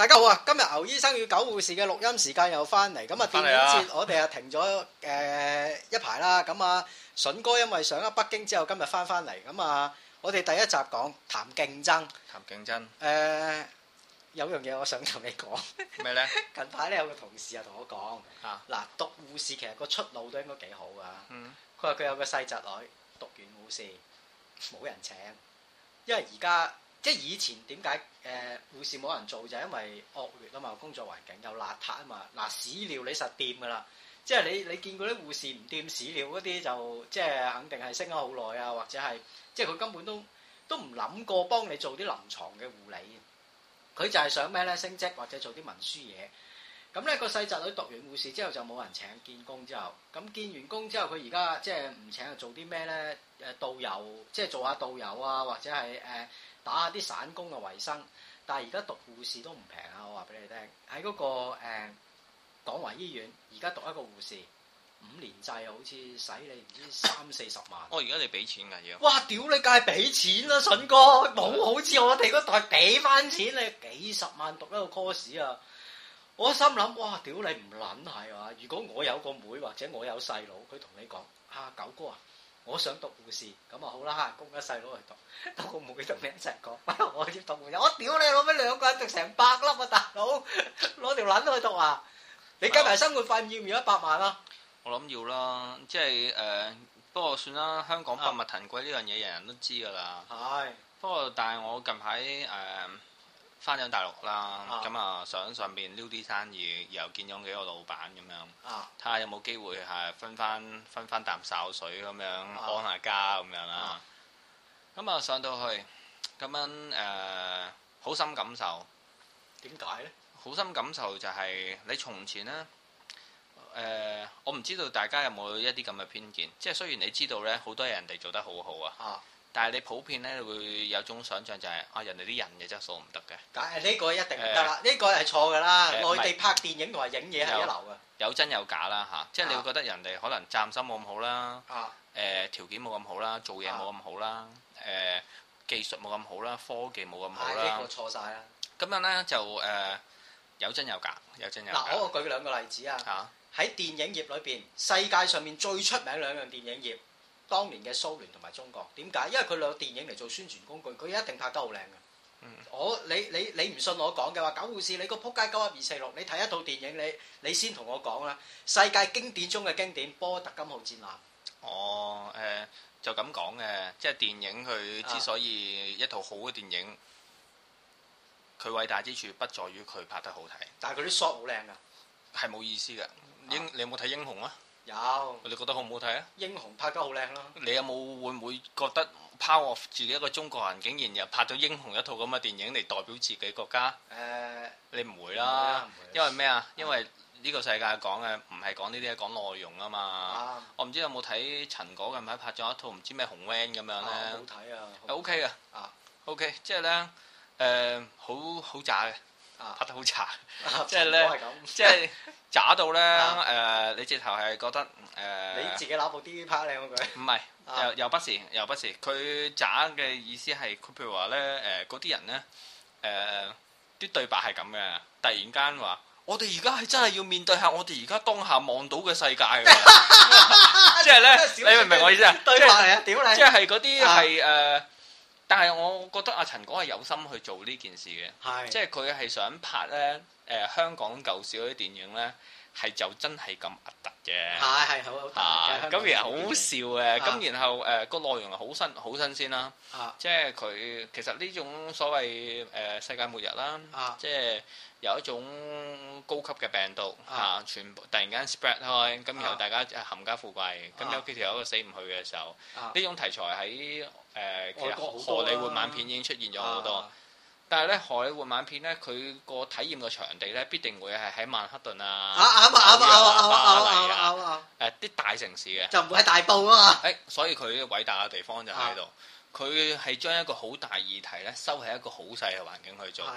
大家好啊！今日牛醫生與狗護士嘅錄音時間又翻嚟，咁啊電影節我哋啊停咗一排啦，咁啊筍哥因為上咗北京之後今日翻嚟，咁啊我哋第一集講談競爭。 談競爭。 有樣嘢我想同你講。 咩咧？ 近排咧有個同事啊同我講，嗱讀護士其實個出路都應該幾好噶。佢話佢有個細侄女讀完護士冇人請，因為而家。即係以前點解護士冇人做就係因為惡劣啊嘛，工作環境又邋遢啊嘛。嗱屎尿你實掂㗎啦，即係你見過啲護士唔掂屎尿嗰啲就即係肯定係升咗好耐啊，或者係即係佢根本都唔諗過幫你做啲臨床嘅護理。佢就係想咩咧？升職或者做啲文書嘢。咁咧個細侄女讀完護士之後就冇人請，見工之後，咁見完工之後佢而家即係唔請做啲咩咧？導遊即係做下導遊啊，或者係打下啲散工嘅維生，但係而家讀護士都唔平啊！我話俾你聽，喺嗰個廣華醫院，而家讀一個護士5年制，好似使你唔知30-40萬。 而家你俾錢㗎要？ 哇！屌你梗係俾錢啦，筍哥，冇好似我哋嗰代俾翻錢你幾十萬讀一個 course 啊！我心諗哇！屌你唔撚係嘛？如果我有個妹或者我有細佬，佢同你講九哥啊！我想讀護士，咁啊好啦，供咗細佬去讀，個妹同你一齊講，我要讀護士，我屌你攞咩2個人讀成100粒啊大佬，攞條撚去讀啊！你計埋生活費要唔要100萬啊？ 我諗要啦，即係不過算啦，香港百物騰貴呢樣嘢人人都知㗎啦。係。不過但係我近排翻咗大陸啦，咁想上邊撩啲生意，又見咗幾個老闆咁樣，睇下有冇機會係分翻啖潲水咁樣安下家咁樣啦。咁上到去咁樣好深感受。 點解咧？好深感受就係你從前咧我唔知道大家有冇一啲咁嘅偏見，即係雖然你知道咧好多人哋做得好好啊。但係你普遍咧會有種想像就係人哋啲人嘅質素唔得嘅。 呢個一定唔得啦，呢個係錯㗎啦。內地拍電影同埋影嘢係一流嘅。 有真有假啦嚇，即係你會覺得人哋可能責任心冇咁好啦，條件冇咁好啦，做嘢冇咁好啦，技術冇咁好啦，科技冇咁好啦。 呢個錯曬啦。 咁樣咧就有真有假，有真有假。 嗱，我舉2個例子啊。喺電影業裏邊，世界上面最出名2樣電影業。當年嘅蘇聯同埋中國，點解？因為佢攞電影嚟做宣傳工具，佢一定拍得好靚嘅。你唔信我講嘅話，狗護士你個撲街91246，你睇一套電影，你先同我講啦。世界經典中嘅經典，波特金號戰艦。 就咁講嘅，即係電影佢之所以一套好嘅電影，佢偉大之處不在於佢拍得好睇， 但係佢啲 shot 好靚㗎， 係冇意思㗎。你有冇睇英雄啊？ 有， 你覺得好唔好睇啊？ 英雄拍得好靚咯。你有冇會唔會覺得拋我自己一個中國人，竟然又拍咗英雄一套咁嘅電影嚟代表自己國家？你唔會啦，因為咩啊？因為呢個世界講嘅唔係講呢啲，係講內容啊嘛。我唔知有冇睇陳果近排拍咗一套唔知咩紅 van 咁樣咧。 好睇啊 ！OK 嘅，OK， 即係咧好渣嘅。拍得好渣，即係咧，即係渣到咧，你直頭係覺得你自己攞部 DV 拍靚嗰句。唔係， 又不是，佢渣嘅意思係，佢譬如話咧，嗰啲人咧，啲對白係咁嘅，突然間話，我哋而家係真係要面對下我哋而家當下望到嘅世界㗎，即係咧，你明唔明我意思啊？ 對白嚟啊，屌你！ 即係嗰啲係但係我覺得阿陳果係有心去做呢件事嘅，即係佢係想拍咧香港舊時嗰啲電影咧，係就真係咁核突嘅，係好突嘅，咁然後好笑嘅，咁然後個內容係好新鮮啦，即係佢其實呢種所謂世界末日啦，即係有一種高級嘅病毒全部突然間 spread 開，咁然後大家冚家富貴，咁有幾條友都死唔去嘅時候，呢種題材喺其實荷里活晚片已經出現咗好多，但係咧荷里活晚片咧，佢個體驗嘅場地咧必定會係喺曼克頓啊、巴黎啊、啲大城市嘅， 就唔會喺大埔啊嘛。 所以佢偉大嘅地方就喺度，佢係將一個好大議題咧收喺一個好細嘅環境去做，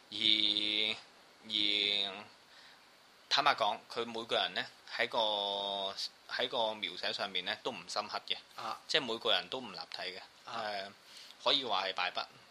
而坦白講，佢每個人咧喺個描寫上面咧都唔深刻嘅，即係每個人都唔立體嘅，可以話係敗筆。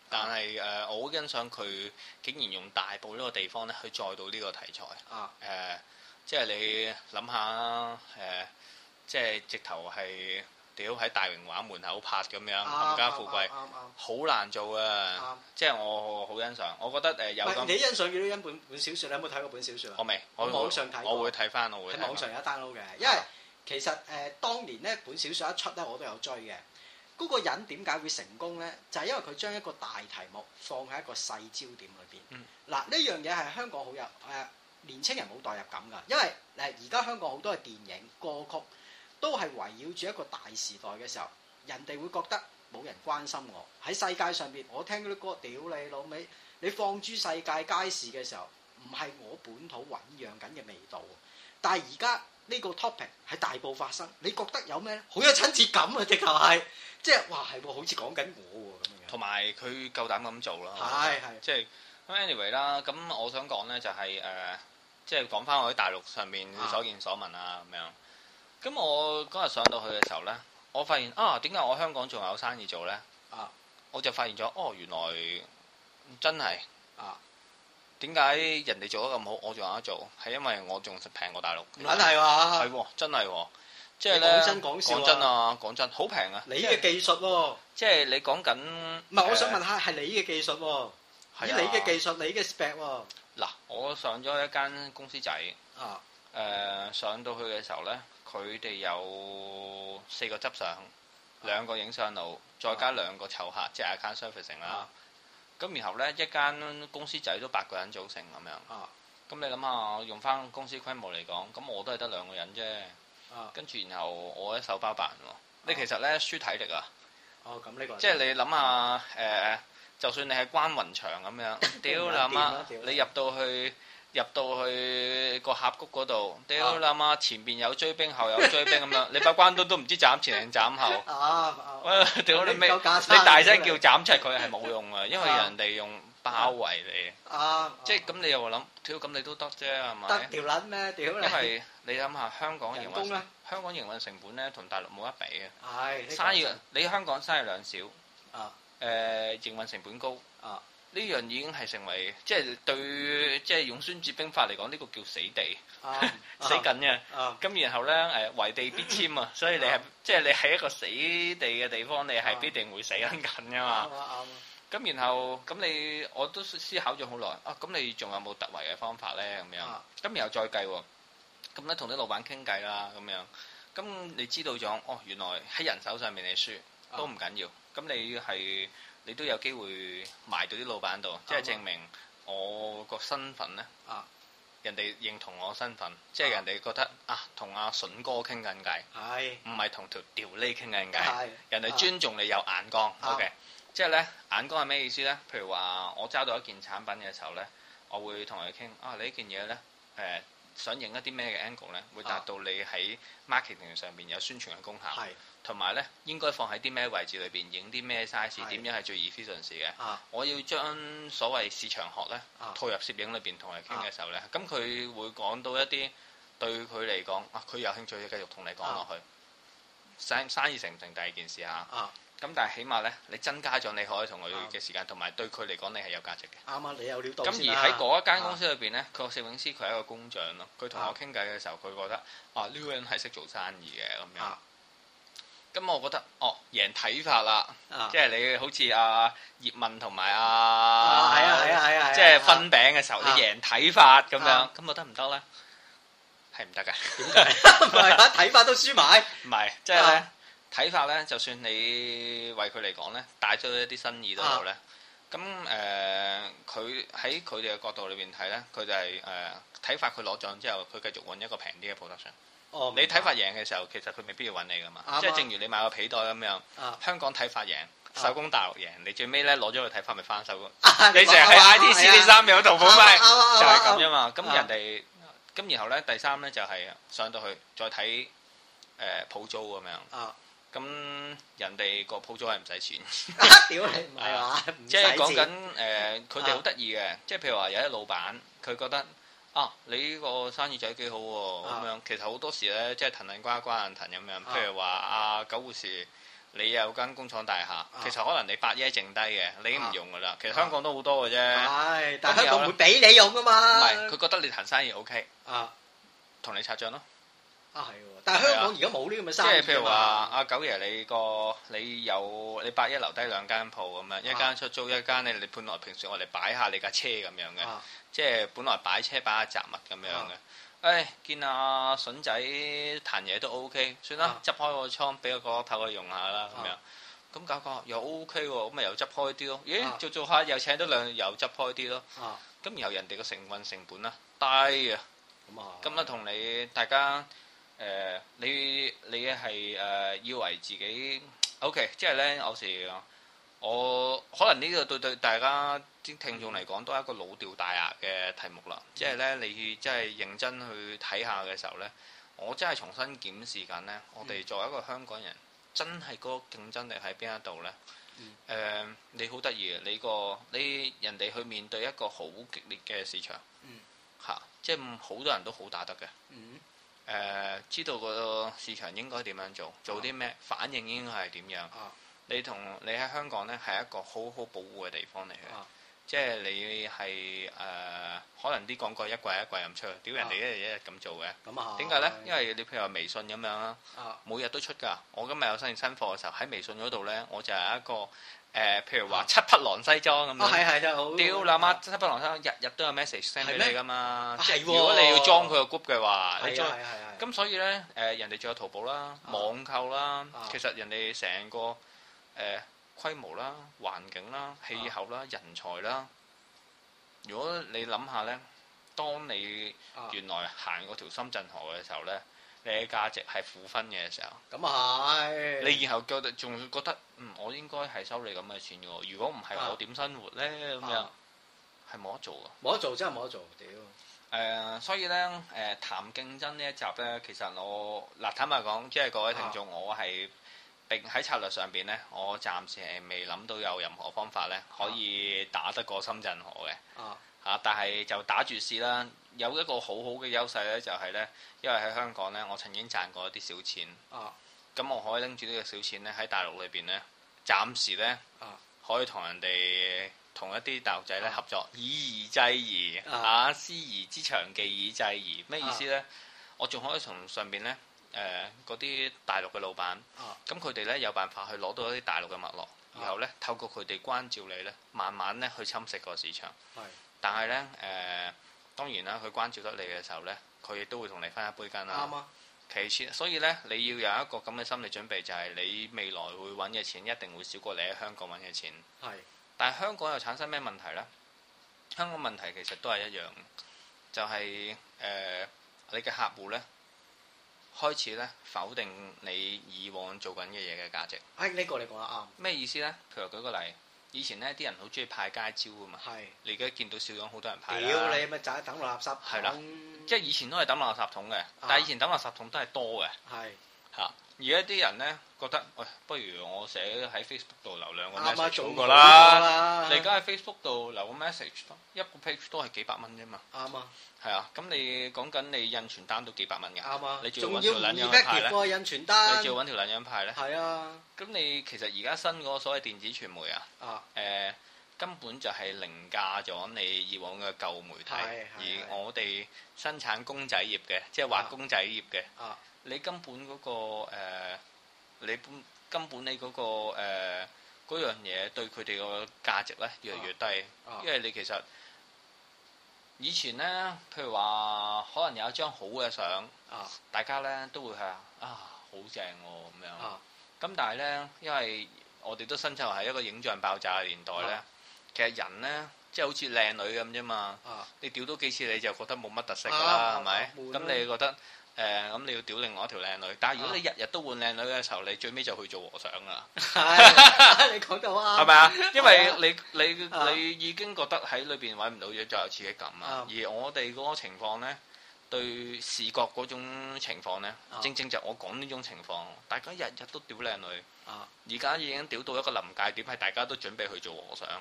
但係我好欣賞佢竟然用大埔呢個地方咧去載到呢個題材。即係你諗下即係直頭係屌喺大榮華門口拍咁樣，冚家富貴，好難做啊！即係我好欣賞，我覺得有咁。 你欣賞幾多欣本小説？你有冇睇過本小説啊？ 我未， 我網上睇過。 我會睇翻，我會喺網上有 download 嘅，因為其實當年呢本小説一出咧，我都有追嘅。嗰個人點解會成功呢？就係因為佢將一個大題目放喺一個細焦點裏邊。嗱，呢樣嘢係香港好有年青人冇代入感㗎，因為而家香港好多嘅電影歌曲都係圍繞住一個大時代嘅時候，人哋會覺得冇人關心我喺世界上邊。我聽嗰啲歌，屌你老味，你放諸世界街市嘅時候，唔係我本土醖釀緊嘅味道。但係而家呢個 topic 喺大埔發生，你覺得有咩咧？好有親切感啊！直頭係即係哇，係喎，好似講緊我喎咁樣。同埋佢夠膽咁做啦， 係即係咁 anyway 啦。咁我想講咧就係即係講翻我喺大陸上面所見所聞啊咁樣。咁我嗰日上到去嘅時候咧，我發現點解我香港仲有生意做咧？我就發現咗原來真係點解人哋做得咁好，我仲有得做，係因為我仲平過大陸。 唔撚係話係喎，真係喎，即係咧講真啊，講真好平啊！ 你嘅技術喎， 即係你講緊唔係我想問下係你嘅技術喎，以你嘅技術，你嘅 spec 喎。 嗱，我上咗一間公司仔上到去嘅時候咧，佢哋有4個執相，2個影相佬，再加2個湊客，即係 account servicing 啦。咁然後咧，一間公司仔都8個人組成咁樣。咁你諗下，用翻公司規模嚟講，咁我都係得2個人啫。跟住然後我一手包辦喎。你其實咧輸體力啊。 咁呢個。 即係你諗下就算你係關雲長咁樣，屌你媽！你入到去個峽谷嗰度，屌你媽！前邊有追兵，後有追兵咁樣，你把關刀都唔知斬前定斬後。屌你咩？你大聲叫斬出佢係冇用啊，因為人哋用包圍你。即係咁，你又話諗，屌咁你都得啫係咪？ 得條撚咩？屌你！ 因為你諗下香港營運成本咧，同大陸冇得比嘅。生意你香港生意量少。營運成本高。呢樣已經係成為即係對即係用孫子兵法嚟講，呢個叫死地，死緊嘅。咁然後咧為地必遷啊，所以你係即係你喺一個死地嘅地方，你係必定會死緊㗎嘛。咁然後咁我都思考咗好耐咁你仲有冇突圍嘅方法咧？咁樣咁然後再計喎，咁咧同啲老闆傾偈啦咁樣，咁你知道咗原來喺人手上面你輸都唔緊要，咁你都有機會賣到啲老闆度，即係證明我個身份咧，人哋認同我身份，即係人哋覺得同阿筍哥傾緊偈，唔係同條條脷傾緊偈，人哋尊重你有眼光。OK，即係咧眼光係咩意思咧？譬如話我揸到一件產品嘅時候咧，我會同佢傾你呢件嘢咧想影一啲咩嘅 angle 咧，會達到你喺 marketing 上面有宣傳嘅功效。同埋咧，應該放喺啲咩位置裏邊，影啲咩 size， 點樣係最 efficient 嘅。我要將所謂市場學咧套入攝影裏邊同佢傾嘅時候咧，咁佢會講到一啲對佢嚟講佢有興趣嘅繼續同你講落去。生意成唔成第二件事嚇。咁但係起碼咧，你增加咗你可以同佢嘅時間，同埋對佢嚟講你係有價值嘅。啱你有料到先啦。咁而喺嗰一間公司裏邊咧，佢個攝影師佢係一個工匠咯。佢同我傾偈嘅時候，佢覺得呢個人係識做生意嘅咁樣。咁我覺得贏睇法啦，即係你好似葉問同埋即係分餅嘅時候，你贏睇法咁樣，咁我得唔得咧？係唔得㗎？點解？唔係睇法都輸埋。唔係，即係咧睇法咧，就算你為佢嚟講咧，帶咗一啲新意都好咧。咁佢喺佢哋嘅角度裏邊睇咧，佢就係睇法佢攞獎之後，佢繼續揾一個平啲嘅 production。你睇法贏嘅時候，其實佢未必要揾你噶嘛，即係正如你買個皮袋咁樣，香港睇法贏，手工大陸贏，你最尾咧攞咗個睇法咪翻手，你淨係喺 ITC 呢3秒淘寶賣，就係咁啫嘛。咁人哋咁然後咧第3咧就係上到去再睇鋪租咁樣，咁人哋個鋪租係唔使錢，屌你唔係話，即係講緊佢哋好得意嘅，即係譬如話有啲老闆佢覺得。你呢個生意仔幾好喎，咁樣其實好多時咧，即係騰騰瓜瓜騰咁樣。譬如話九護士你有間工廠大廈，其實可能你8億剩低嘅，你已經唔用噶啦。其實香港都好多嘅啫。係， 但係香港唔會俾你用噶嘛。 唔係，佢覺得你談生意 OK，同你拆帳咯。 係喎，但係香港而家冇呢咁嘅生意。 即係譬如話，阿九爺你8億留低2間鋪咁樣，一間出租，一間你本來平時我哋擺下你架車咁樣嘅，即係本來擺車擺下雜物咁樣嘅。見阿筍仔彈嘢都 OK， 算啦，執開個倉，俾個角落頭佢用下啦咁樣。咁搞又 OK 喎，咁咪又執開啲咯。咦，做下又請多2日，又執開啲咯。咁然後人哋個成本啊低啊。咁啊同你大家你係以為自己 OK， 即係咧有時我可能呢個對大家啲聽眾嚟講都係一個老掉大牙嘅題目啦。即係咧你真係認真去睇下嘅時候咧，我真係重新檢視緊咧。我哋作為一個香港人，真係嗰個競爭力喺邊一度咧？你好得意嘅，你人哋去面對一個好激烈嘅市場，即係好多人都好打得嘅。知道個市場應該點樣做啲咩，反應應該係點樣。你喺香港咧係一個好好保護嘅地方嚟嘅，即係你係可能啲廣告一季咁出，屌人哋一日咁做嘅。點解咧？因為你譬如話微信咁樣啦，每日都出㗎。我今日有新貨嘅時候喺微信嗰度咧，我就係一個譬如話七匹狼西裝咁樣。係真係好。屌你媽！七匹狼西裝日日都有 message send 俾你㗎嘛。即係如果你要裝佢個 group 嘅話，你裝。咁所以咧人哋仲有淘寶啦、網購啦，其實人哋成個規模啦、環境啦、氣候啦、人才啦，如果你諗下呢，當你原來行嗰條深圳河嘅時候呢，你嘅價值係負分嘅時候，咁係你以後仲覺得我應該係收你咁嘅錢嘅喎，如果唔係我點生活呢？咁樣係冇得做嘅，冇得做真係冇得做，屌！所以呢，談競爭呢一集呢，其實我坦白講，即係各位聽眾，我係。並喺策略上邊呢，我暫時係未諗到有任何方法呢可以打得過深圳河嘅。但係就打住試啦。有一個好好嘅優勢呢，就係呢，因為喺香港呢，我曾經賺過一啲小錢。咁我可以拎住呢個小錢呢，喺大陸裏邊呢，暫時呢，可以同一啲大陸仔呢合作，以夷制夷師夷之長技以制夷。咩意思呢？我仲可以從上邊呢。嗰啲大陸嘅老闆，咁佢哋咧有辦法去攞到一啲大陸嘅脈絡，然後咧透過佢哋關照你咧，慢慢咧去侵蝕個市場。但係咧當然啦，佢關照得你嘅時候咧，佢亦都會同你分一杯羹啦。其次，所以咧你要有一個咁嘅心理準備，就係你未來會揾嘅錢一定會少過你喺香港揾嘅錢。但係香港又產生咩問題咧？香港問題其實都係一樣，就係你嘅客戶咧。開始咧否定你以往做緊嘅嘢嘅價值。呢個你講得啱。咩意思咧？譬如舉個例，以前咧啲人好中意派街招啊嘛。你而家見到少咗好多人派啦。屌你咪就係抌落垃圾桶。係啦，即係以前都係抌落垃圾桶嘅，但係以前抌垃圾桶都係多嘅。而家啲人咧覺得，喂，不如我寫喺 Facebook 度留兩個 message 好過啦。你而家喺 Facebook 度留個 message，一個 page 都係幾百蚊啫嘛。啱啊。係啊，咁你講緊你印傳單都幾百蚊㗎。啱啊。你仲要揾條撚樣派咧？印傳單。你仲要揾條撚樣派咧？係啊。咁你其實而家新嗰個所謂電子傳媒啊，根本就係凌駕咗你以往嘅舊媒體，而我哋生產公仔業嘅，即係畫公仔業嘅。你根本嗰個你嗰個嗰樣嘢對佢哋個價值咧越嚟越低，因為你其實以前咧，譬如話可能有一張好嘅相，大家咧都會係好正喎咁樣。咁但係咧，因為我哋都生活喺一個影像爆炸嘅年代咧，其實人咧即係好似靚女咁啫嘛。你屌多幾次你就覺得冇乜特色㗎啦，係咪？咁你覺得？咁你要屌另外一條靚女，但係如果你日日都換靚女嘅時候，你最尾就去做和尚啦。你講到啱，係咪啊？因為你已經覺得喺裏邊揾唔到嘢，再有刺激感啊。而我哋嗰個情況呢，對視覺嗰種情況呢，正正就我講呢種情況，大家日日都屌靚女，而家已經屌到一個臨界點，係大家都準備去做和尚。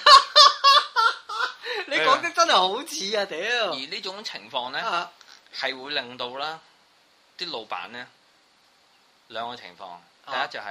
你講得真係好似啊屌！而呢種情況呢，係會令到啦啲老闆呢兩個情況，第一就係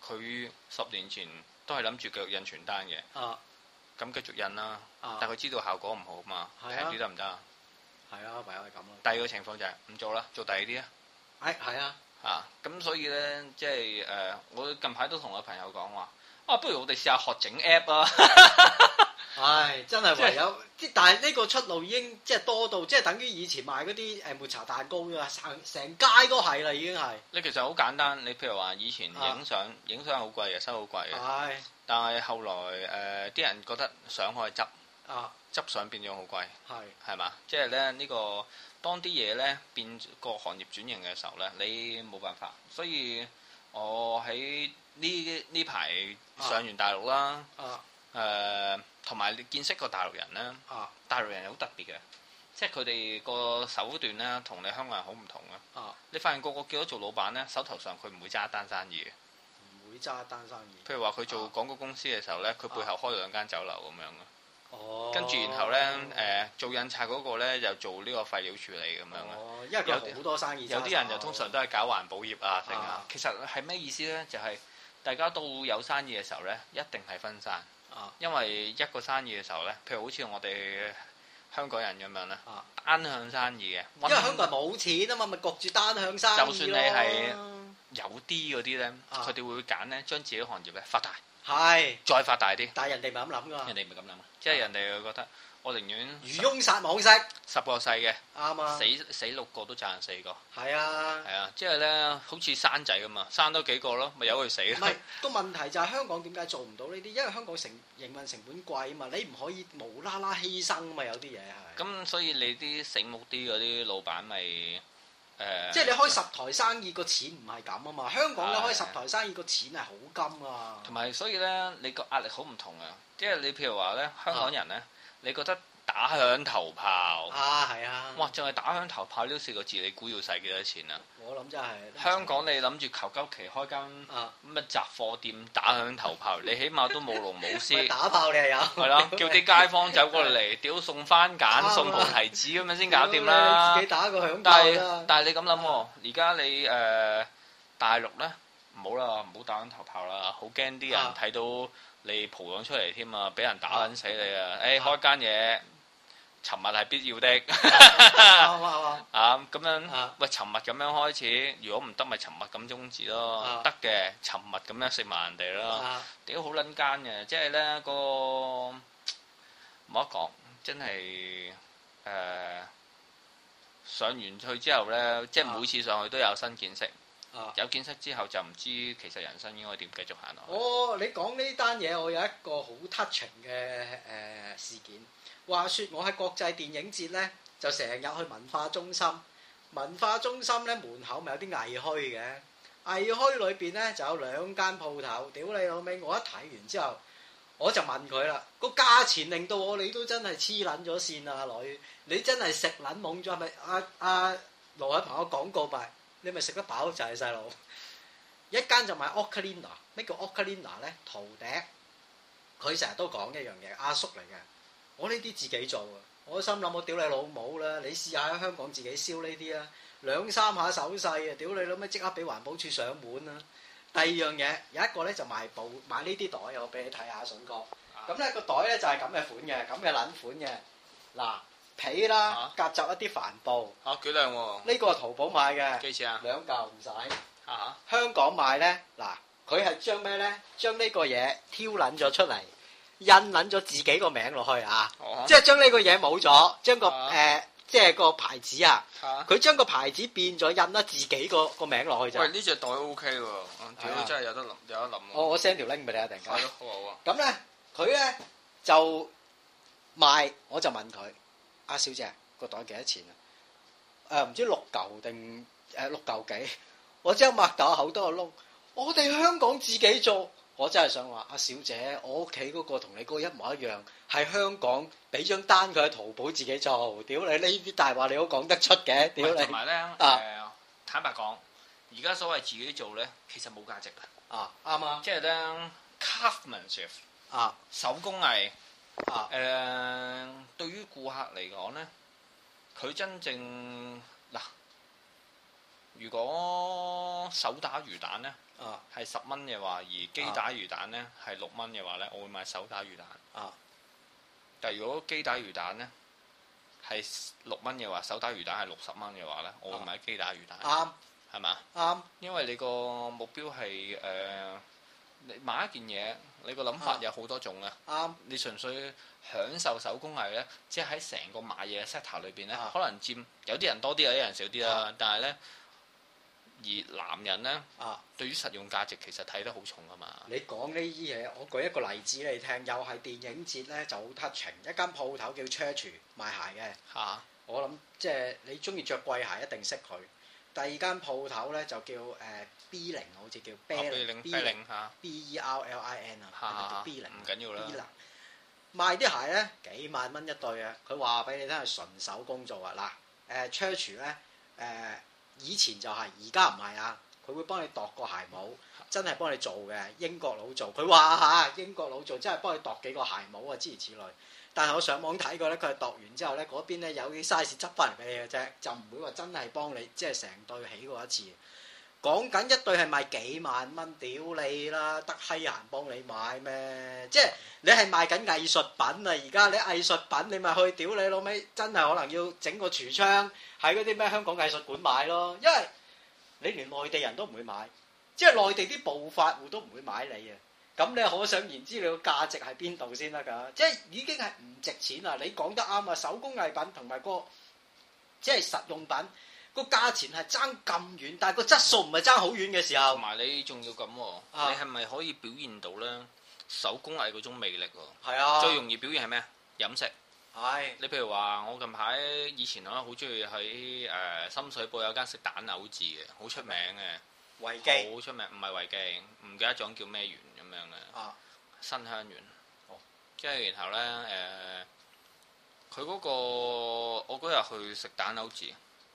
佢10年前都係諗住繼續印傳單嘅。咁繼續印啦。但係佢知道效果唔好嘛，平啲得唔得啊？ 係啊，唯有係咁咯。 第二個情況就係唔做啦，做第二啲啊。 係啊。 咁所以咧，即係我近排都同我朋友講話，不如我哋試下學整 app 啊！ 真係唯有，但係呢個出路已經即係多到，即係等於以前賣嗰啲抹茶蛋糕㗎，成街都係啦，已經係。你其實好簡單，你譬如話以前影相好貴嘅，收好貴嘅。但係後來啲人覺得相可以執相變咗好貴，係嘛？即係咧呢個當啲嘢咧變個行業轉型嘅時候咧，你冇辦法。所以我喺呢排上完大陸啦，同埋你見識過大陸人咧，大陸人好特別嘅，即係佢哋個手段咧同你香港人好唔同嘅。你發現個叫咗做老闆咧，手頭上佢唔會揸一單生意嘅， 唔會揸一單生意。 譬如話佢做廣告公司嘅時候咧，佢背後開2間酒樓咁樣嘅。跟住然後咧做印刷嗰個咧就做呢個廢料處理咁樣嘅。 因為有好多生意。 有啲人就通常都係搞環保業啊，成啊。其實係咩意思咧？就係大家到有生意嘅時候咧，一定係分散。因為一個生意嘅時候咧，譬如好似我哋香港人咁樣咧，單向生意嘅， 因為香港人冇錢啊嘛，咪焗住單向生意咯。 就算你係有啲嗰啲咧，佢哋會揀咧將自己行業咧發大，再發大啲。但係人哋唔係咁諗㗎。人哋唔係咁諗，即係人哋會覺得我寧願漁翁撒網式 ，10個細嘅， 啱啊， 死6個都賺4個。 係啊， 即係咧，好似生仔咁啊，生多幾個咯，咪由佢死咯。 唔係個問題就係香港點解做唔到呢啲？因為香港營運成本貴啊嘛，你唔可以無啦啦犧牲啊嘛，有啲嘢係。咁所以你啲醒目啲嗰啲老闆咪即係你開10台生意個錢唔係咁啊嘛，香港你開10台生意個錢係好金啊。 同埋所以咧，你個壓力好唔同啊，即係你譬如話咧，香港人咧，你覺得打響頭炮係啊！ 哇，淨係打響頭炮呢4個字，你估要使幾多錢啊？ 我諗真係香港你諗住求鳩其開間乜雜貨店打響頭炮，你起碼都舞龍舞獅。 打炮你係有。係咯，叫啲街坊走過嚟，屌送番梘、送菩提子咁樣先搞掂啦。 你自己打個響炮啦。 但係你咁諗喎，而家你大陸咧唔好啦，唔好打響頭炮啦，好驚啲人睇到你蒲咗出嚟添啊，俾人打撚死你啊！開間嘢。沉默係必要的，咁樣喂，沉默咁樣開始，如果唔得咪沉默咁終止咯，得嘅沉默咁樣食埋人哋咯，屌好撚奸嘅，即係咧個冇得講，真係上完去之後咧，即係每次上去都有新見識，有見識之後就唔知其實人生應該點繼續行落去。你講呢單嘢，我有一個好 touching 嘅事件。話說我喺國際電影節咧，就成日去文化中心。文化中心咧門口咪有啲藝墟嘅，藝墟裏邊咧就有2間鋪頭。屌你老味！我一睇完之後，我就問佢啦，個價錢令到我你都真係黐撚咗線啊女！你真係食撚懵咗係咪？阿羅海鵬個廣告牌，你咪食得飽就係細路。一間就賣 Ocarina， 咩叫 Ocarina 咧？陶笛。佢成日都講一樣嘢，阿叔嚟嘅。我呢啲自己做啊！我心諗我屌你老母啦！你試下喺香港自己燒呢啲啊，2-3下手勢啊！屌你老味即刻俾環保署上門啊！第二樣嘢有一個咧就賣呢啲袋，我俾你睇下筍哥。咁咧個袋咧就係咁嘅款嘅，咁嘅撚款嘅。嗱皮啦，夾雜一啲帆布。幾靚喎！呢個係淘寶買嘅。幾錢啊？2嚿唔使。香港買咧，嗱佢係將咩咧？將呢個嘢挑撚咗出嚟。印撚咗自己個名落去啊！即係將呢個嘢冇咗，將個即係個牌子啊！佢將個牌子變咗，印咗自己個名落去就。喂，呢隻袋 OK 喎，屌真係有得諗。我 send 條 link 俾你啊，突然間。係咯，好啊。咁咧，佢咧就賣，我就問佢：阿小姐個袋幾多錢啊？唔知6嚿定6嚿幾？我即刻擘大口多個窿。我哋香港自己做。我真係想話，阿小姐，我屋企嗰個同你嗰個一模一樣，係香港俾張單佢喺淘寶自己做。屌你呢啲大話你都講得出嘅，屌你！同埋咧，坦白講，而家所謂自己做咧，其實冇價值啊！啱啊！即係咧 craftsmanship 手工藝對於顧客嚟講咧，佢真正嗱如果手打魚蛋咧係10蚊嘅話，而機打魚蛋咧係6蚊嘅話咧，我會買手打魚蛋。但係如果機打魚蛋咧係6蚊嘅話，手打魚蛋係60蚊嘅話咧，我會買機打魚蛋。 啱， 係嘛？ 啱。 因為你個目標係你買一件嘢，你個諗法有好多種啊。 啱。你純粹享受手工藝咧，即係喺成個買嘢嘅 set 頭裏邊咧，可能佔有啲人多啲，有啲人少啲啦。但係咧，而男人咧，對於實用價值其實睇得好重噶嘛。 你講呢啲嘢，我舉一個例子你聽，又係電影節咧就好 touching，一間鋪頭叫 Church 賣鞋嘅。我諗即係你中意着貴鞋一定識佢。第二間鋪頭咧就叫B0，好似叫 B0 嚇 BERLIN 啊，叫 B0 唔緊要啦。 賣啲鞋咧幾萬蚊一對啊！佢話俾你聽係純手工做啊！嗱，Church 咧以前就係，而家唔係啊！佢會幫你度個鞋帽，真係幫你做嘅，英國佬做。佢話嚇英國佬做，真係幫你度幾個鞋帽啊，諸如此類。但係我上網睇過咧，佢係度完之後咧，嗰邊咧有啲 size 執翻嚟俾你嘅啫，就唔會話真係幫你即係成對起過一次。講緊一對係賣幾萬蚊，屌你啦，得閪閒幫你買咩？即係你係賣緊藝術品啊！而家你藝術品你咪去屌你老味，真係可能要整個櫥窗喺嗰啲咩香港藝術館買咯，因為你連內地人都唔會買，即係內地啲暴發戶都唔會買你啊！咁你可想而知你個價值喺邊度先得㗎？即係已經係唔值錢啦！你講得啱啊！手工藝品同埋個即係實用品。個價錢係爭咁遠，但係個質素唔係爭好遠嘅時候， 同埋你仲要咁喎，你係咪可以表現到咧手工藝嗰種魅力喎？ 係啊， 最容易表現係咩？飲食。 係。 你譬如話，我近排以前好中意喺深水埗有間食蛋牛治嘅，好出名嘅。維記。好出名，唔係維記，唔記得咗叫咩園咁樣嘅。新香園。哦。即係然後咧佢嗰個我嗰日去食蛋牛治。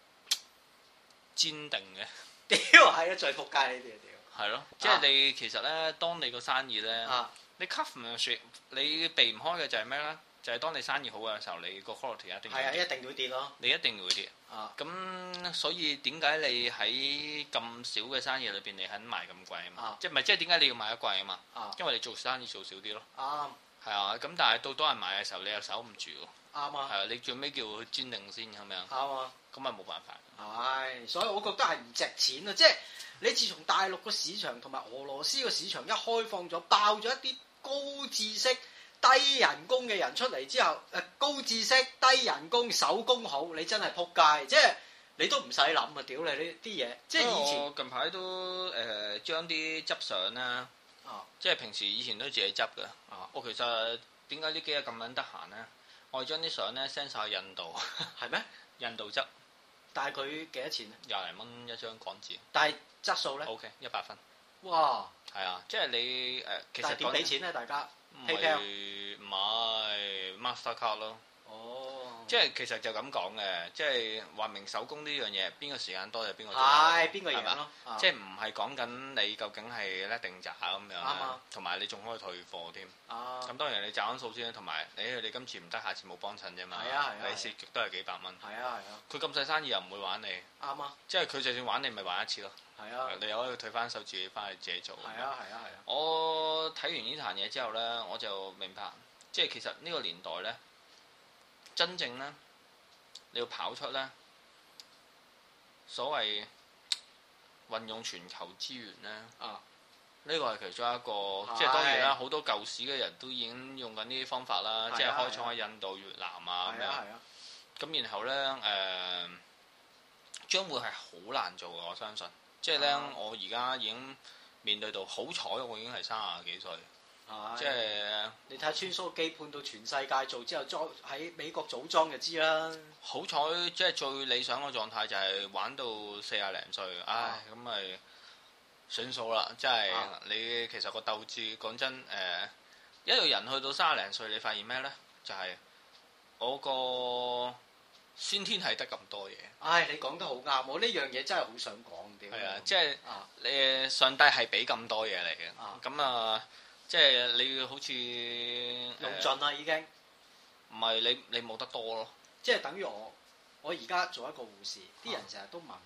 堅定嘅， 屌係啊！最仆街呢啲啊屌！ 係咯，即係你其實咧，當你個生意咧，你 customer 你避唔開嘅就係咩咧？就係當你生意好嘅時候，你個 quality 一定係啊，一定會跌咯。你一定會跌。咁所以點解你喺咁少嘅生意裏邊，你肯賣咁貴啊嘛？即係唔係即係點解你要賣得貴啊嘛？因為你做生意做少啲咯。係啊，咁但係到多人買嘅時候，你又守唔住喎。啱啊。係啊，你最尾叫佢堅定先咁樣。啱啊。咁咪冇辦法。係，所以我覺得係唔值錢啊！即係你自從大陸個市場同埋俄羅斯個市場一開放咗，爆咗一啲高知識、低人工嘅人出嚟之後，高知識、低人工、手工好，你真係撲街！即係你都唔使諗啊！屌你呢啲嘢，即係以前。我近排都將啲執相啦，即係平時以前都自己執嘅。我其實點解呢幾日咁撚得閒咧？我係將啲相咧 send 曬去印度。係咩？印度執。但係佢幾多錢啊？20蚊一張港紙。但係質素咧 ？OK，100分。哇！係啊，即係你其實點俾錢咧？大家 PayPal 唔係 Mastercard 咯。哦。即係其實就咁講嘅，即係話明手工呢樣嘢，邊個時間多就邊個做。係邊個贏咯？即係唔係講緊你究竟係叻定渣咁樣。啱啊。同埋你仲可以退貨添。咁當然你賺緊數先，同埋你今次唔得，下次冇幫襯啫嘛。係啊係啊。你蝕極都係幾百蚊。係啊係啊。佢咁細生意又唔會玩你。啱啊。即係佢就算玩你，咪玩一次咯。係啊。你又可以退翻手，自己翻去自己做。係啊係啊係啊。我睇完呢壇嘢之後咧，我就明白，即係其實呢個年代咧，真正咧，你要跑出咧，所謂運用全球資源咧。呢個係其中一個，即係當然啦，好多舊時嘅人都已經用緊呢啲方法啦，即係開廠喺印度、越南啊咁樣。咁然後咧將會係好難做嘅，我相信。即係咧，我而家已經面對到，好彩我已經係30幾歲。即係你睇下穿梭機判到全世界做之後，裝喺美國組裝就知啦。好彩即係最理想嘅狀態就係玩到40零歲，唉咁咪算數啦。即係你其實個鬥志講真一個人去到30零歲，你發現咩咧？就係我個先天係得咁多嘢。唉，你講得好啱，我呢樣嘢真係好想講啲。係啊，即係你上帝係俾咁多嘢嚟嘅。咁即係你好似用盡啦已經，唔係你冇得多咯。即係等於我而家做一個護士，啲人成日都問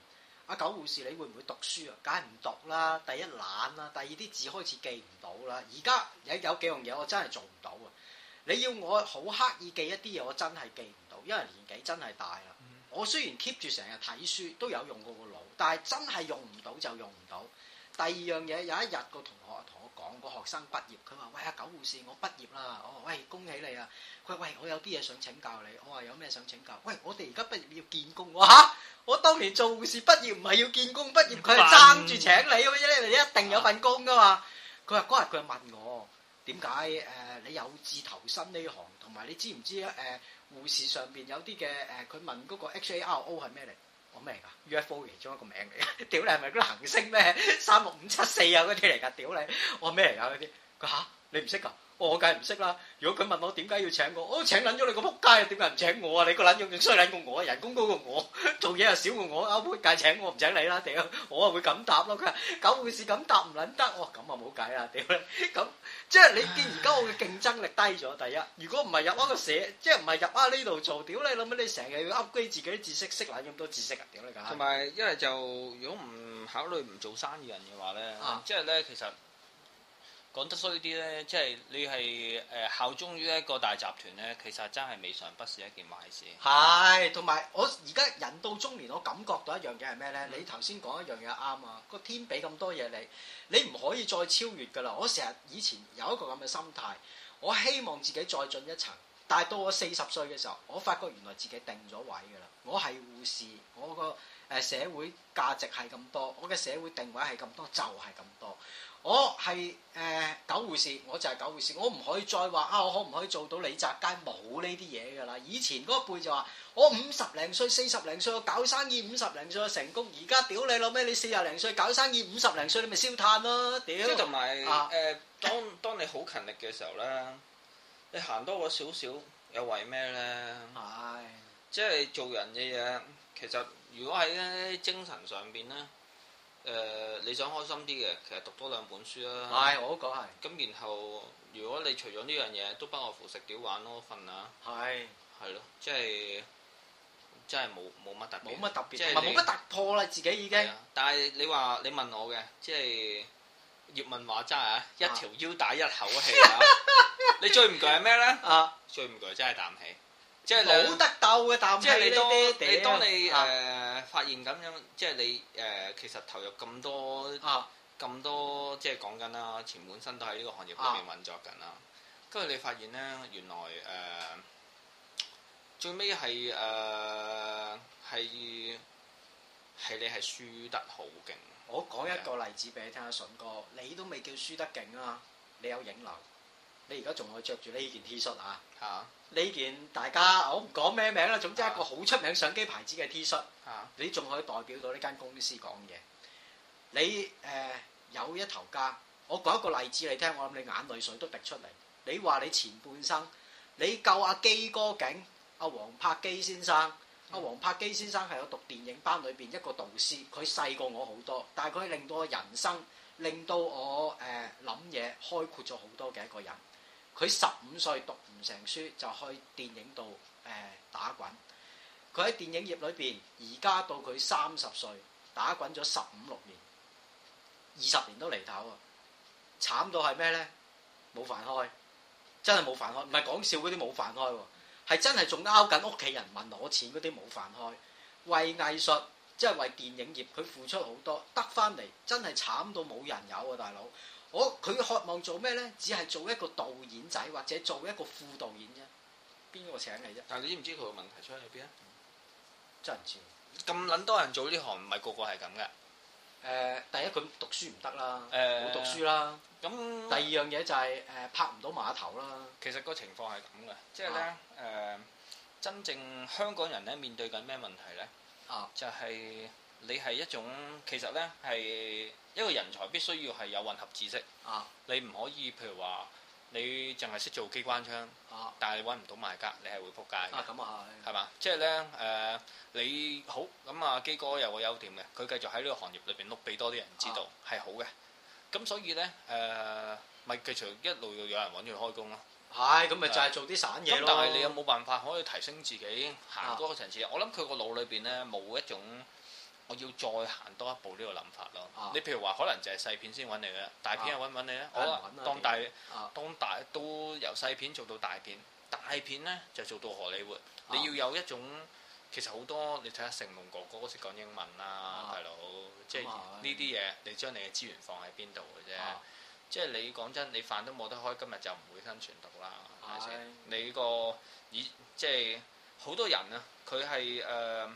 阿狗護士你會唔會讀書啊？梗係唔讀啦，第一懶啦，第二啲字開始記唔到啦。而家有幾樣嘢我真係做唔到啊！你要我好刻意記一啲嘢，我真係記唔到，因為年紀真係大啦。我雖然 keep 住成日睇書，都有用過個腦，但係真係用唔到就用唔到。第二樣嘢，有一日個同學同我講，個學生畢業，佢話：喂，阿狗護士，我畢業啦！我話：喂，恭喜你啊！佢話：喂，我有啲嘢想請教你。我話：有咩想請教？喂，我哋而家畢業要見工。我話：嚇！我當年做護士畢業唔係要見工，畢業佢係爭住請你嘅啫，你一定有份工噶嘛。佢話嗰日佢問我點解你有志投身呢行，同埋你知唔知護士上邊有啲嘅佢問嗰個 HARO 係咩嚟？我咩嚟㗎 ？UFO 其中一個名嚟嘅。屌你係咪嗰啲行星咩36574啊嗰啲嚟㗎？屌你！我話咩嚟㗎嗰啲？佢嚇你唔識㗎？我梗係唔識啦！如果佢問我點解要請我，我請撚咗你個仆街，點解唔請我啊？你個撚樣仲衰撚過我，人工高過我，做嘢又少過我，仆街請我唔請你啦！屌，我啊會咁答咯。佢話狗護士咁答唔撚得，我咁啊冇計啦！屌你，咁即係你見而家我嘅競爭力低咗。第一，如果唔係入一個社，即係唔係入呢度做，屌你諗乜？你成日要 upgrade 自己啲知識，識撚咁多知識啊！屌你㗎！ 同埋因為就如果唔考慮唔做生意人嘅話咧，即係咧其實。講得衰啲咧，即係你係效忠於一個大集團咧，其實真係未嘗不是一件壞事。 係，同埋我而家人到中年，我感覺到一樣嘢係咩咧？你頭先講一樣嘢啱啊！個天俾咁多嘢你唔可以再超越㗎啦！我成日以前有一個咁嘅心態，我希望自己再進一層，但係到我40歲嘅時候，我發覺原來自己定咗位㗎啦。我係護士，我個社會價值係咁多，我嘅社會定位係咁多，就係咁多。我係狗護士，我就係狗護士，我唔可以再話啊！我可唔可以做到李澤楷？冇呢啲嘢㗎啦。以前嗰一輩就話我50零歲、40零歲我搞生意50零歲就成功。而家屌你老咩？你40零歲搞生意50零歲你咪燒炭咯！屌！即係同埋當你好勤力嘅時候咧，你行多個少少又為咩咧？係即係做人嘅嘢，其實如果喺咧精神上邊咧。你想開心啲嘅，其實讀多2本書啦。 係，我都講係。咁然後，如果你除咗呢樣嘢，都不外乎食屌玩咯，瞓啊。係。係咯，即係真係冇乜特別。冇乜特別，即係冇乜突破啦，自己已經。 但係你問我嘅，即係葉問話齋啊，一條腰帶一口氣啊！你最唔攰係咩咧？啊！最唔攰真係啖氣。即係冇得鬥嘅啖氣，即係你當你發現咁樣，即係你其實投入咁多即係講緊啦，前半生都喺呢個行業裏面運作緊啦。跟住你發現咧，原來最尾係你係輸得好勁。 我講一個例子俾你聽下，順哥，你都未叫輸得勁啊！你有影樓，你而家仲可以着住呢件 T 恤啊？嚇！呢件大家我唔講咩名啦，總之一個好出名相機牌子嘅 T 恤，你仲可以代表到呢間公司講嘢。你有一頭家，我講一個例子你聽，我諗你眼淚水都滴出嚟。你話你前半生，你救阿基哥勁，阿黃柏基先生，阿黃柏基先生係我讀電影班裏邊一個導師，佢細過我好多，但係佢令到我人生，令到我諗嘢開闊咗好多嘅一個人。佢15歲讀唔成書就去電影度打滾，佢喺電影業裏邊，而家到佢30歲打滾咗15、6年，20年都離頭啊！慘到係咩咧？冇飯開，真係冇飯開，唔係講笑嗰啲冇飯開喎，係真係仲拗緊屋企人問攞錢嗰啲冇飯開。為藝術即係為電影業，佢付出好多，得翻嚟真係慘到冇人有啊！大佬。佢渴望做咩咧？只係做一個導演仔，或者做一個副導演啫。邊個請你啫？ 但係你知唔知佢個問題出喺邊啊？ 真係唔知。 咁撚多人做呢行，唔係個個係咁嘅。 第一佢讀書唔得啦，冇讀書啦。咁第二樣嘢就係拍唔到碼頭啦。 其實個情況係咁嘅，即係咧真正香港人咧面對緊咩問題咧？就係你係一種其實咧係。一個人才必須要係有混合知識，你唔可以譬如話你淨係識做機關槍，但係你揾唔到賣家，你係會撲街嘅。咁啊係嘛？即係咧你好咁啊，基哥有個優點嘅，佢繼續喺呢個行業裏邊碌俾多啲人知道係好嘅。咁所以咧咪繼續一路有人揾佢開工咯。 係咁咪就係做啲散嘢咯。 但係你有冇辦法可以提升自己行嗰個層次？我諗佢個腦裏邊咧冇一種我要再行多一步呢個諗法咯。你譬如話，可能就係細片先揾你嘅，大片又揾唔揾你咧？好啦，當大都由細片做到大片，大片咧就做到荷里活。你要有一種，其實好多你睇下成龍哥哥識講英文啦，大佬，即係呢啲嘢，你將你嘅資源放喺邊度嘅啫。即係你講真，你飯都冇得開，今日就唔會生存到啦，係咪先？你個即係好多人啊，佢係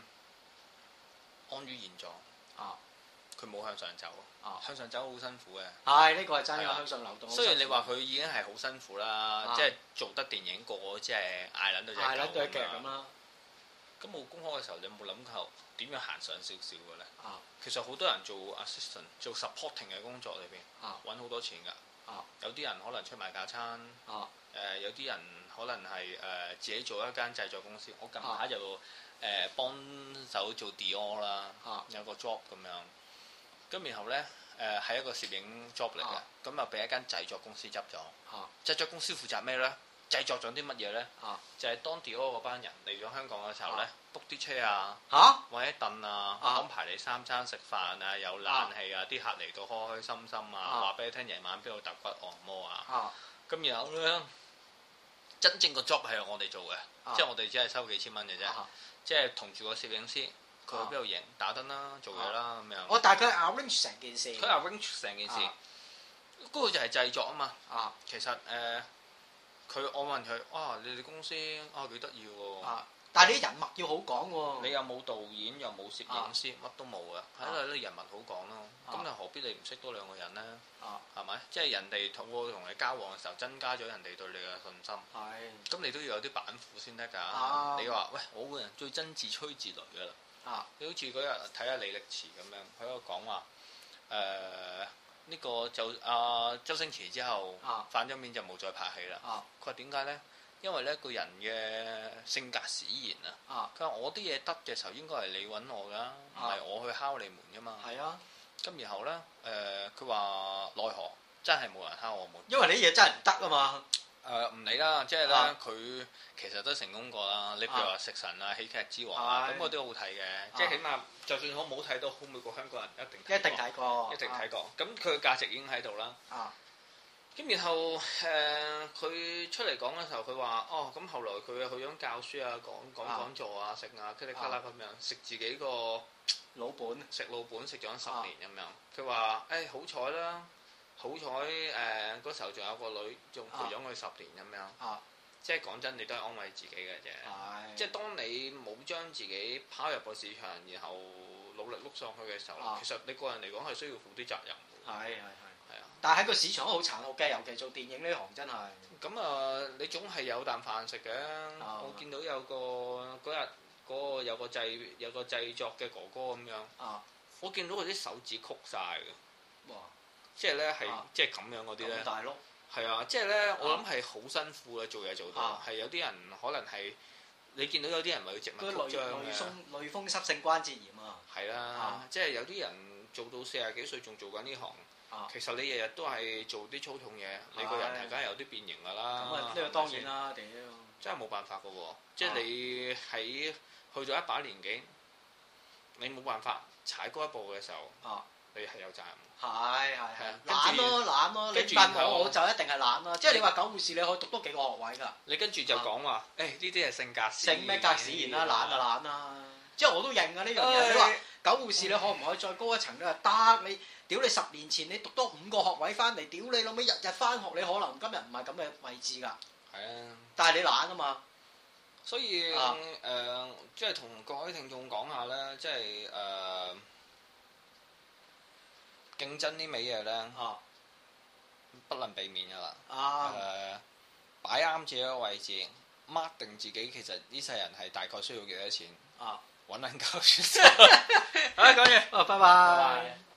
安於現狀，佢冇向上走，向上走好辛苦嘅。係呢個係真嘅，向上流動。 雖然你話佢已經係好辛苦啦，即係做得電影個即係嗌撚到隻狗咁啦。咁冇公開嘅時候，你有冇諗過點樣行上少少嘅咧？其實好多人做 assistant 做 supporting 嘅工作裏邊，揾好多錢㗎。有啲人可能出賣架餐，有啲人可能係自己做一間製作公司。我近排就幫手做 Dior 啦，有個 job 咁樣。咁然後咧係一個攝影 job 嚟嘅，咁啊俾一間製作公司執咗。製作公司負責咩咧？製作咗啲乜嘢咧？就係當 Dior 嗰班人嚟咗香港嘅時候咧，book 啲車啊，或者凳啊，安排你三餐食飯啊，有冷氣啊，啲客嚟到開開心心啊，話俾你聽夜晚邊度揼骨按摩啊。咁然後咧，真正個 job 係我哋做嘅，即係我哋只係收幾千蚊嘅啫，即係同住個攝影師，佢去邊度影打燈啦，做嘢啦咁樣。 但係佢 arrange 成件事。佢 arrange 成件事，嗰個就係製作啊嘛。其實我問佢，你哋公司幾得意喎。 但係你啲人物要好講喎。 你又冇導演，又冇攝影師，乜都冇嘅，係因為啲人物好講咯。咁你何必你唔識多兩個人咧？係咪？即係人哋同你交往嘅時候，增加咗人哋對你嘅信心。係。咁你都要有啲板斧先得㗎。你話喂，我個人最憎自吹自擂㗎啦。你好似嗰日睇下李力持咁樣，佢喺度講話呢個就周星馳之後反咗面就冇再拍戲啦。佢話點解咧？因為咧個人嘅性格使然啊。佢話我啲嘢得嘅時候應該係你揾我㗎，唔係我去敲你門㗎嘛。係啊。咁然後咧佢話奈何真係冇人敲我門。因為你啲嘢真係唔得啊嘛。唔理啦，即係咧佢其實都成功過啦。你譬如話食神啊、喜劇之王啊，咁我都好睇嘅。即係起碼就算我冇睇到，每個香港人一定睇過。一定睇過。咁佢嘅價值已經喺度啦。咁然後佢出嚟講嘅時候，佢話咁後來佢去咗教書啊，講講座啊，食啊，噼里啪啦咁樣食自己個老本，食老本食咗10年咁樣。佢話好彩啦。好彩嗰時候仲有個女，仲陪咗佢10年咁樣。即係講真，你都係安慰自己嘅啫。即係當你冇將自己拋入個市場，然後努力碌上去嘅時候，其實你個人嚟講係需要負啲責任。係啊。但係喺個市場都好殘酷嘅，尤其做電影呢行真係。咁你總係有啖飯食嘅。我見到有個嗰日嗰個有個製作嘅哥哥咁樣。我見到佢啲手指曲晒嘅。哇！即係咧，係即係咁樣嗰啲咧，大碌係啊！即係咧，我諗係好辛苦嘅做嘢做到，係有啲人可能係你見到有啲人咪要植物曲張嘅，類風濕性關節炎啊，係啦，即係有啲人做到40幾歲仲做緊呢行，其實你日日都係做啲粗重嘢，你個人係梗係有啲變形㗎啦。咁啊，呢個當然啦，屌！真係冇辦法㗎喎，即係你喺去咗一把年紀，你冇辦法踩嗰一步嘅時候，你係有責任。係懶咯，你問我就一定係懶咯。即係你話狗護士，你可以讀多幾個學位㗎。你跟住就講話，呢啲係性格使然。性咩格使然啦，懶就懶啦。即係我都認啊呢樣嘢。你話狗護士，你可唔可以再高一層咧？得，你屌你10年前你讀多5個學位翻嚟，屌你老味日日翻學，你可能今日唔係咁嘅位置㗎。係啊。但係你懶啊嘛。所以即係同各位聽眾講下咧，即係競爭呢味嘢咧，不能避免噶啦。擺啱自己個位置，mark 定自己其實呢世人係大概需要幾多錢，揾撚夠算數。好啦，講完，拜拜。